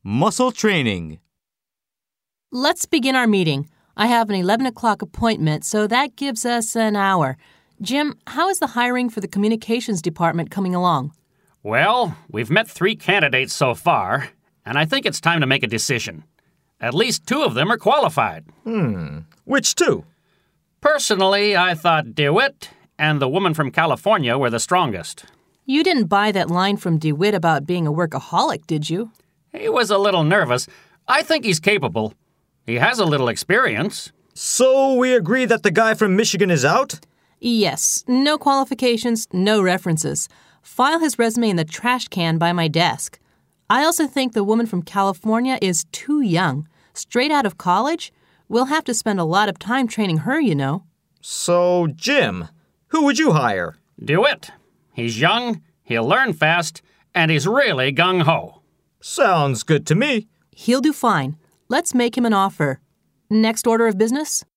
Muscle training. Let's begin our meeting. I have an 11 o'clock appointment, so that gives us an hour. Jim, how is the hiring for the communications department coming along? Well, we've met 3 candidates so far, and I think it's time to make a decision. At least 2 of them are qualified. Which 2? Personally, I thought DeWitt and the woman from California were the strongest. You didn't buy that line from DeWitt about being a workaholic, did you? He was a little nervous. I think he's capable. He has a little experience. So we agree that the guy from Michigan is out? Yes. No qualifications, no references. File his resume in the trash can by my desk. I also think the woman from California is too young. Straight out of college? We'll have to spend a lot of time training her, you know. So, Jim, who would you hire? DeWitt. He's young, he'll learn fast, and he's really gung-ho. Sounds good to me. He'll do fine. Let's make him an offer. Next order of business?